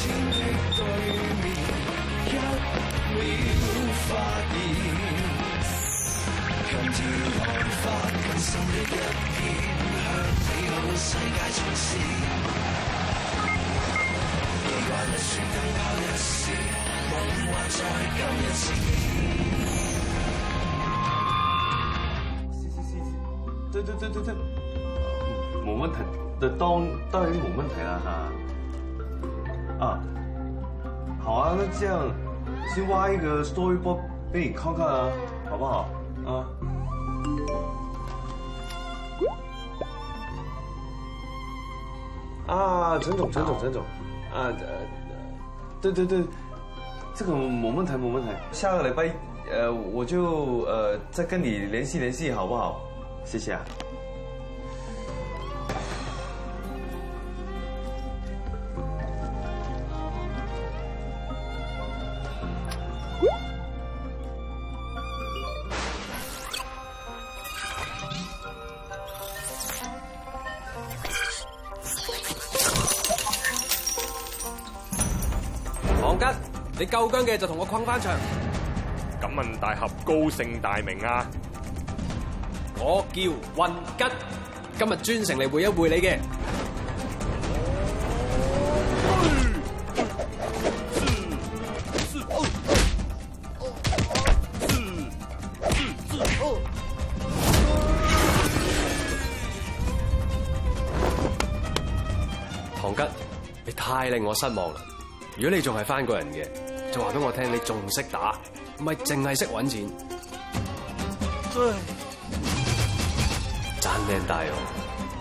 對面，一秒發現，今天看法更深的一片，向美好世界衝刺。記慣一説更跑一時，夢幻再今一次。 对，冇問題，當然冇問題啦哈。啊，好啊，那這樣先挖一個 storyboard 俾你看看啊，好不好？啊。啊，陳總，啊，對，這個冇問題，下個禮拜我就再跟你聯繫，好不好？謝謝啊。 黃吉，你夠薑嘅就同我困翻場。 敢問大俠高姓大名啊？ 我叫運吉，今日專程嚟會一會你嘅。唐吉，你太令我失望啦！如果你仲係翻個人嘅，就話俾我聽你仲識打，唔係淨係識揾錢。賺命大哦！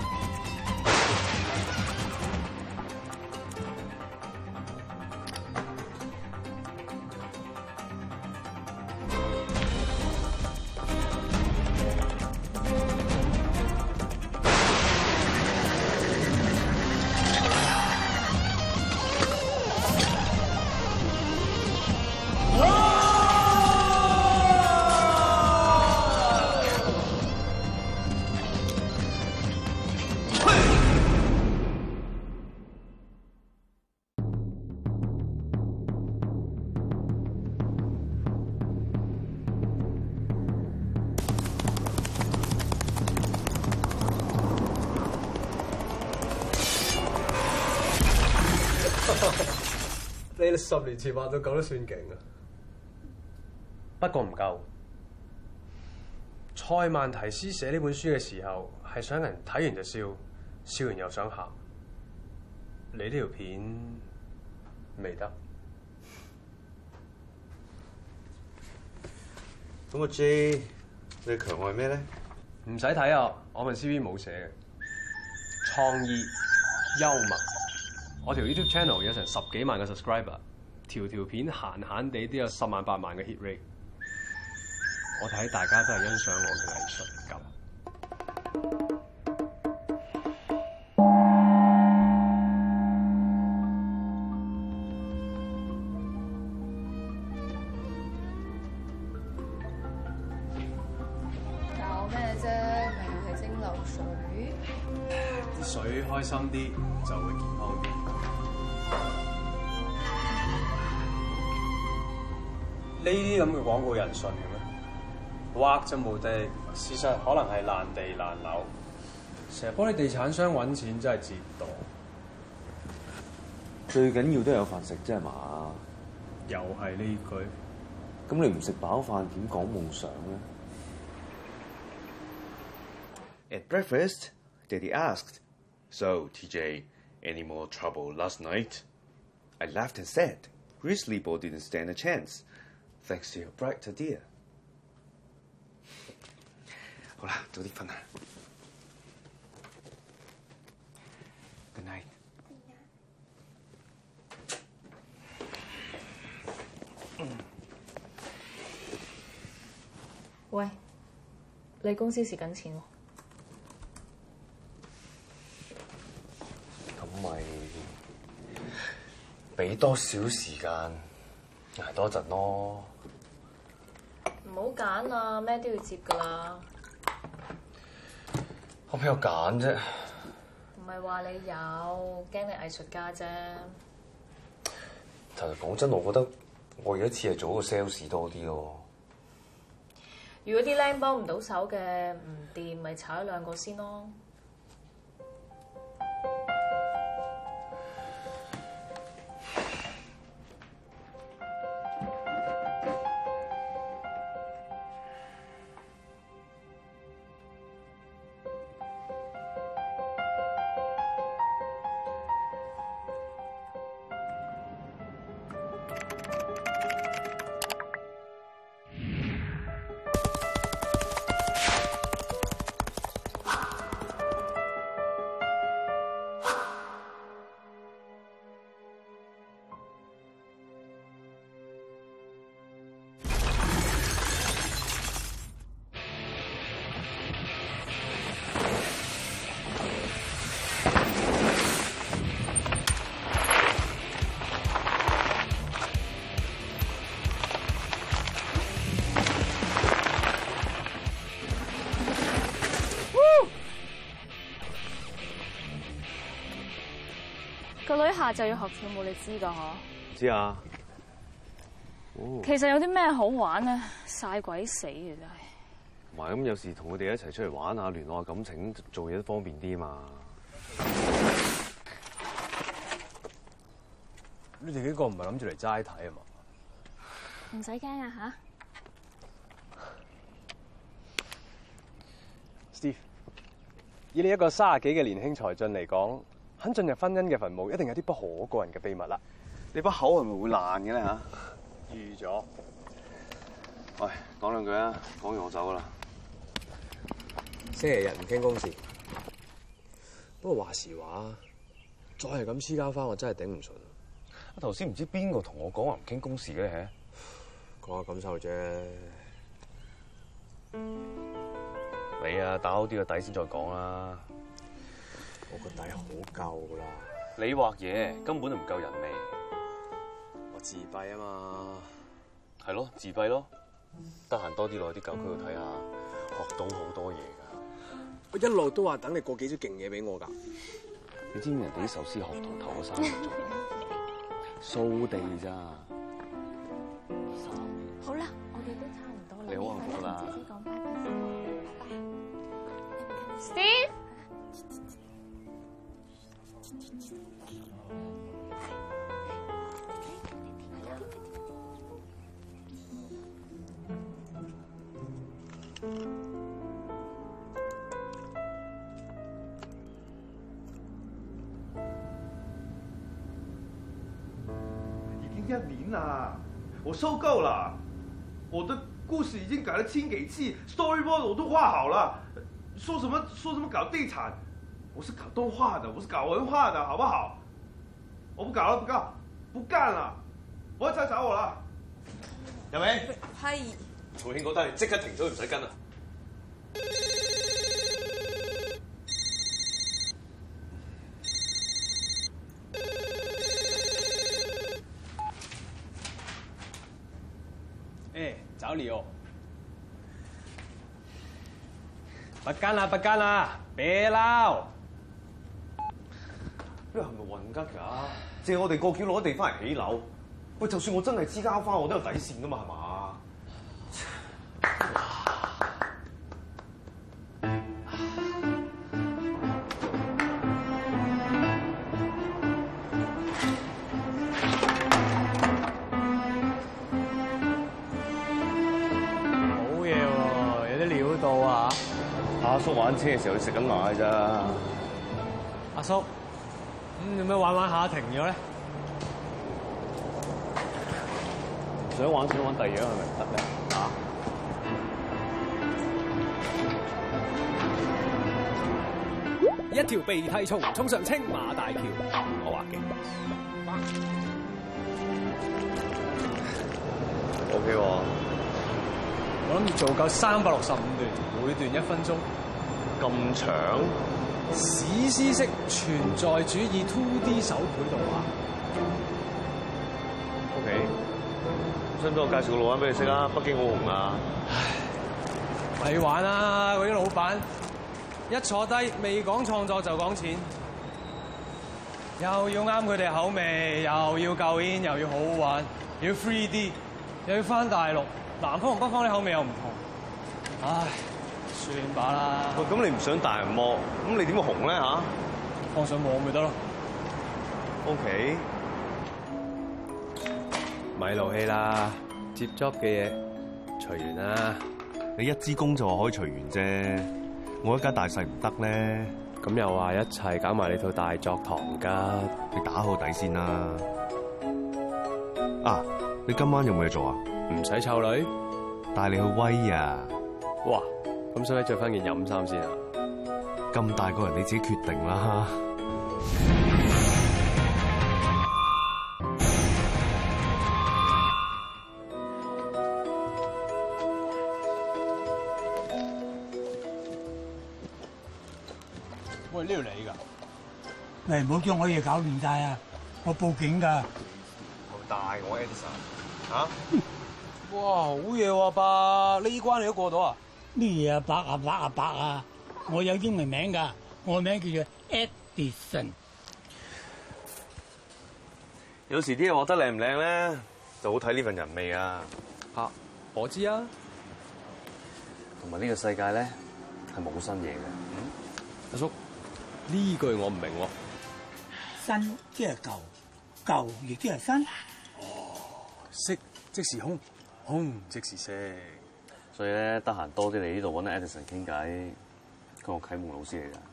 你哋10年前畫到咁都算勁啊！ 不過唔夠。塞萬提斯寫呢本書嘅時候，係想人睇完就笑，笑完又想喊。你呢條片未得。 咁阿 J， 你強愛咩咧？ 唔使睇啊，我份 CV 冇寫嘅。創意、幽默。我條 YouTube channel 有成10幾萬個 subscriber， 條片閒閒地都有10萬8萬嘅 hit rate。我睇大家都係欣賞我嘅藝術感。 搞咩啫？咪又係蒸餾水。 啲水開心啲就會健康啲。呢啲咁嘅廣告人信嘅咩？畫就無敵，事實可能係爛地爛樓。成日幫啲地產商揾錢真係折墮。 最緊要都有飯食啫係嘛？ 又係呢句。 咁你唔食飽飯點講夢想咧 At breakfast, Daddy asked, "So, TJ, any more trouble last night?" I laughed and said, "Grizzly Ball didn't stand a chance, thanks to your bright idea." 好啦，早啲瞓啦。Good night。 喂，你公司蝕緊錢喎。 咁咪俾多少時間捱多陣咯。 唔好揀啊，咩都要接㗎啦。 我邊有揀啫？ 唔係話你有，驚你藝術家啫。 其實講真，我覺得我而家似係做個 sales 多啲咯。 如果啲僆幫唔到手嘅唔掂，咪炒一兩個先咯。 個女下晝要學跳舞，你知㗎嗬？ 知啊。 其實有啲咩好玩咧？曬鬼死嘅真係。 唔係咁，有時同佢哋一齊出嚟玩下，聯絡下感情，做嘢都方便啲嘛。 你哋幾個唔係諗住嚟齋睇啊嘛？ 唔使驚啊吓 Steve， 以你一個30幾嘅年輕才俊嚟講，肯進入婚姻嘅墳墓，一定有啲不可告人嘅秘密啦。 你把口係咪會爛嘅咧嚇？ 預咗。 喂，講兩句啊，講完我走噶啦。 星期日唔傾公事。不過話時話，再係咁黐交返，我真係頂唔順。 頭先唔知邊個同我講話唔傾公事嘅， 講下感受啫。 你啊，打好啲個底先再講啦。 我個底好夠啦。 你畫嘢根本就唔夠人味。 我自閉啊嘛。 係咯，自閉咯。得閒多啲落去啲舊區度睇下，學到好多嘢㗎。 我一路都話等你過幾招勁嘢俾我㗎。 你知唔知人哋啲壽司學堂頭嗰3個做咩？掃地咋。 好啦，我哋都差唔多啦。 你好幸福啦。 姐姐講拜拜先。 Steve， 已經1年啦，我受夠了。我的故事已經改了千幾次 ，storyboard 我都畫好了。說什麼搞地產，我是搞動畫的，我是搞文化的，好不好？我不搞了，不幹了，不要再找我了。有未？ 係。 曹慶嗰單即刻停咗，唔使跟啦。 找你哦！不幹啦，不幹啦，別鬧！ 呢係咪混吉㗎？借我哋過橋攞地翻嚟起樓。喂，就算我真係黐交翻，我都有底線㗎嘛，係嘛？阿叔玩車嘅時候，佢食緊奶咋？ 阿叔，有咩玩下停咗咧？ 想玩第二樣係咪唔得咧？ 一條鼻涕蟲衝上青馬大橋，我話勁。 OK 喎。 我諗住做夠365段，每段1分鐘。 咁長？ 史詩式存在主義 2D 手繪動畫。 OK。使唔使我介紹個老闆俾你識啊？北京好紅啊！ 唉，咪玩啦！嗰啲老闆一坐低，未講創作就講錢。 又要啱佢哋口味，又要夠煙，又要好玩，又要 3D， 又要翻大陸，南方同北方啲口味又唔同。唉，算罷啦。 喂，咁你唔上大銀幕，咁你點會紅咧嚇？ 放上網咪得咯。 OK。 咪勞氣啦，接 job 嘅嘢隨緣啦。 你一支公就話可以隨緣啫，我一家大細唔得咧。 咁又話一齊搞埋你套大作堂吉， 你打好底先啦。啊，你今晚有冇嘢做啊？ 唔使湊女， 帶你去威啊！ 哇，咁使唔使着翻件飲衫先啊？ 咁大個人你自己決定啦。 喂，呢度你㗎？ 喂，唔好將我嘢搞亂晒啊！我報警㗎。 好大我 Edison 嚇！ 哇，好嘢喎，伯，呢關你都過到啊？ 咩嘢啊？伯啊！我有英文名㗎，我名叫做 Edison。 有時啲嘢畫得靚唔靚咧，就好睇呢份人味啊！ 嚇，我知啊。 同埋呢個世界咧係冇新嘢嘅。 阿叔，呢句我唔明喎。 新即係舊，舊亦即係新。 色即是空，空即是色。 所以咧，得閒多啲嚟呢度揾 Edison 傾偈，佢我啟蒙老師嚟㗎。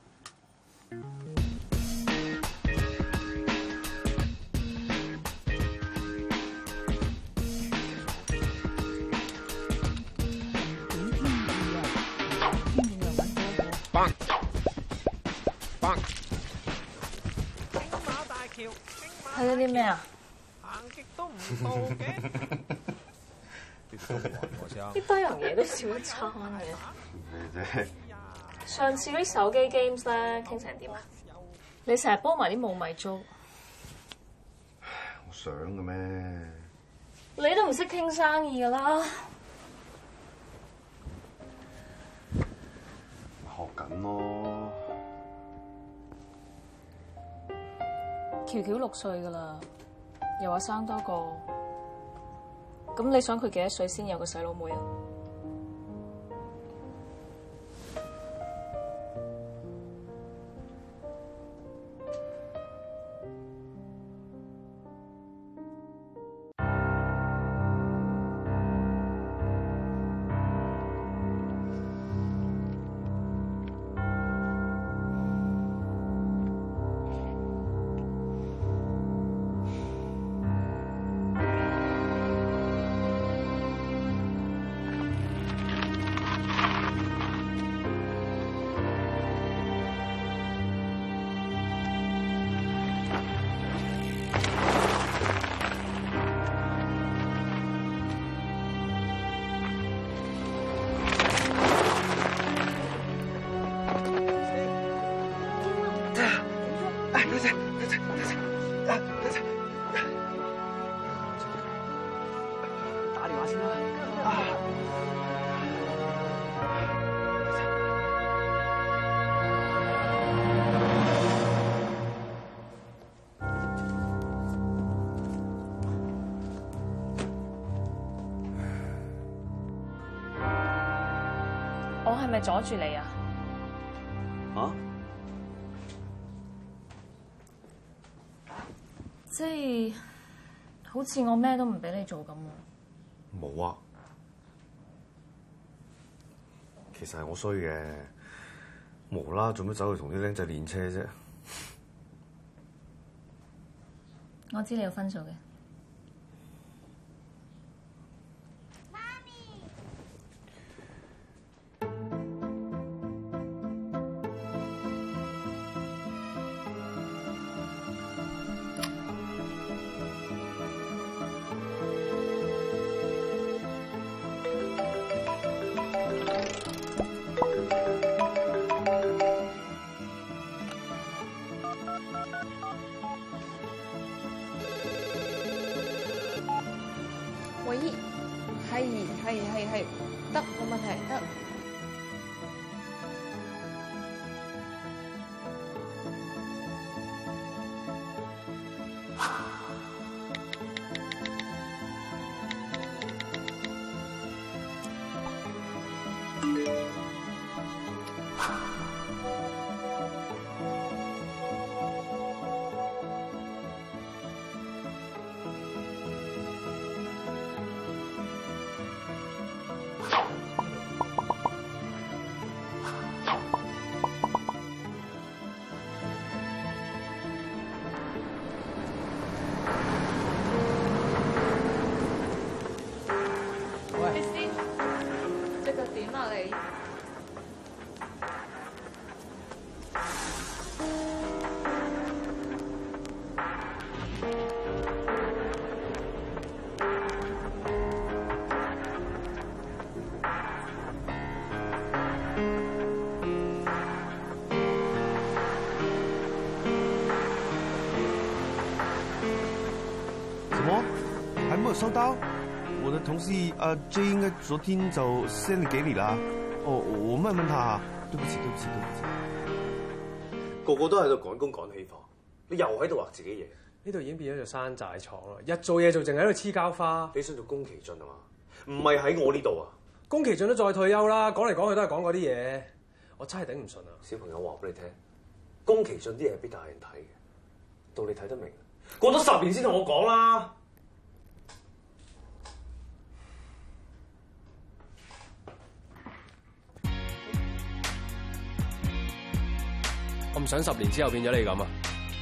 睇咗啲咩啊？ 行極都唔到嘅。 呢堆樣嘢都笑一餐嘅。上次嗰啲手機 games 咧，傾成點啊？你成日幫埋啲冇米租。 我想嘅咩？ 你都唔識傾生意㗎啦。 學緊咯。 喬喬6歲㗎啦，又話生多個，咁你想佢幾多歲先有個細佬妹啊？ 打電話先啦。 我係咪阻住你啊？ 啊？ 即係好似我咩都唔俾你做咁啊！ 冇啊，其實係我衰嘅，無啦做乜走去同啲僆仔練車啫？ 我知你有分數嘅。 收到，我的同事阿 J 應該昨天就 send 給你啦。哦，我問問他，對不起。 個個都喺度趕工趕氣化，你又喺度畫自己嘢。 呢度已經變咗做山寨廠啦，日做嘢做，淨係喺度黐膠花。 你想做宮崎駿啊嘛？唔係喺我呢度啊！ 宮崎駿都再退休啦，講嚟講去都係講嗰啲嘢，我真係頂唔順啊！ 小朋友話俾你聽，宮崎駿啲嘢係俾大人睇嘅，到你睇得明。過咗10年先同我講啦。 我唔想10年之後變咗你咁啊！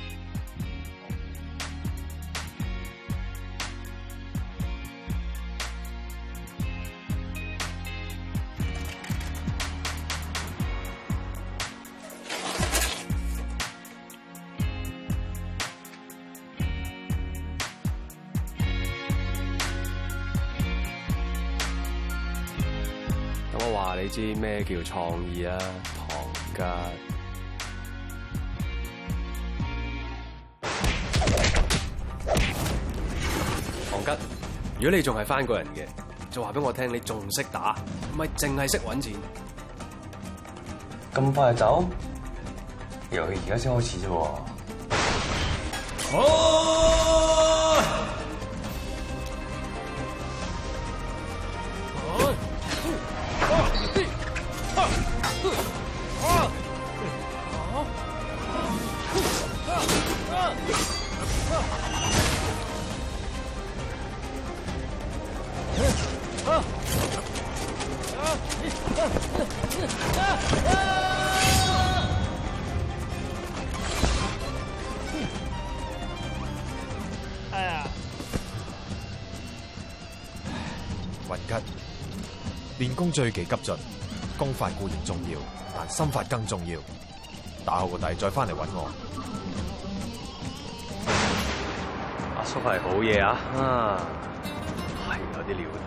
咁我話你知咩叫創意啊，唐吉。唐吉，如果你仲係翻個人嘅，就話俾我聽，你仲識打，唔係淨係識揾錢。 咁快就走？遊戲而家先開始啫喎。 雲吉，練功最忌急進，功法固然重要，但心法更重要。打好個底再翻嚟揾我。 阿叔係好嘢啊！係有啲料到。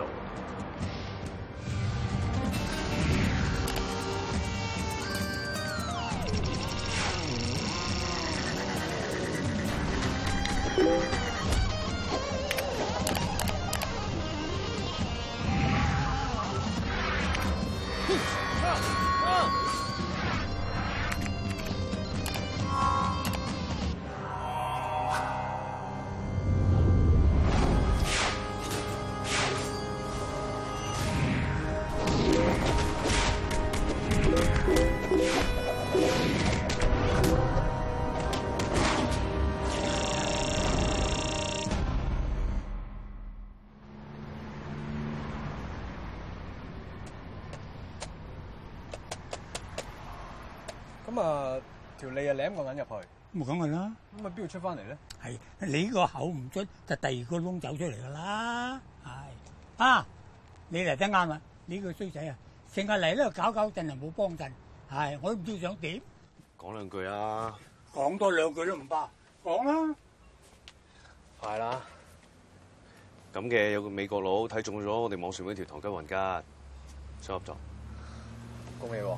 咁啊，條脷啊舐個銀入去， 冇講佢啦。 咁啊，邊度出翻嚟咧？ 係你個口唔出，就第二個窿走出嚟噶啦。係啊，你嚟得啱啦！呢個衰仔啊，成日嚟呢度搞搞震又冇幫陣，係我都唔知想點。 講兩句啊！ 講多兩句都唔怕，講啦。 係啦。咁嘅有個美國佬睇中咗我哋網上嗰條唐吉雲吉，想合作。 恭喜喎！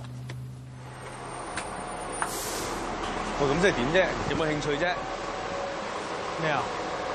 喂，咁即係點啫？有冇興趣啫？ 咩啊？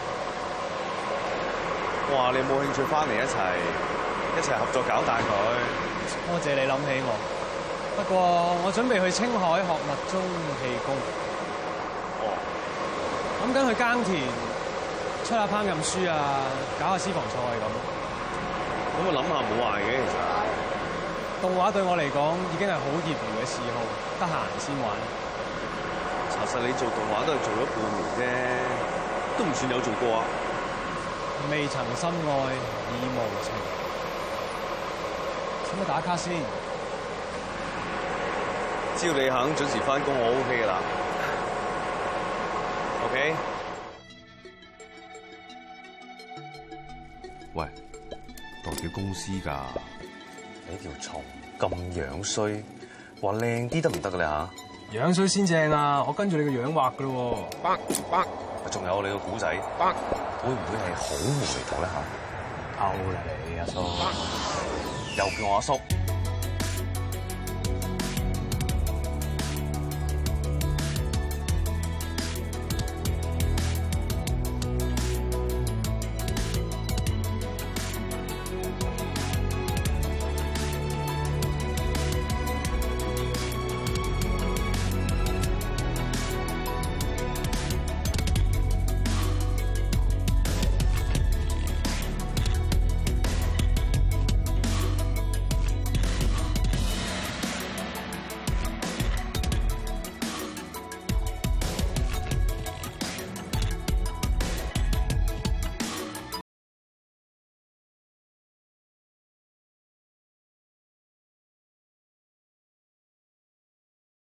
我話你有冇興趣翻嚟一齊合作搞大佢？ 多謝你諗起我。不過我準備去青海學密宗氣功。 哦。 諗緊去耕田，出下烹飪書啊，搞下私房菜咁。 咁我諗下冇壞嘅，其實。 動畫對我嚟講已經係好業餘嘅嗜好，得閒先玩。 查實你做動畫都係做咗半年啫，都唔算有做過啊。 未曾深愛已無情，使乜打卡先？ 只要你肯準時翻工，我 OK 噶啦。OK？ 喂，代表公司㗎。你條蟲咁樣衰，話靚啲得唔得㗎你嚇？ 樣衰先正啊！我跟住你個樣畫噶咯喎。 仲有你個古仔，會唔會係好無厘頭咧嚇？ 夠啦你阿叔， 又叫我阿叔。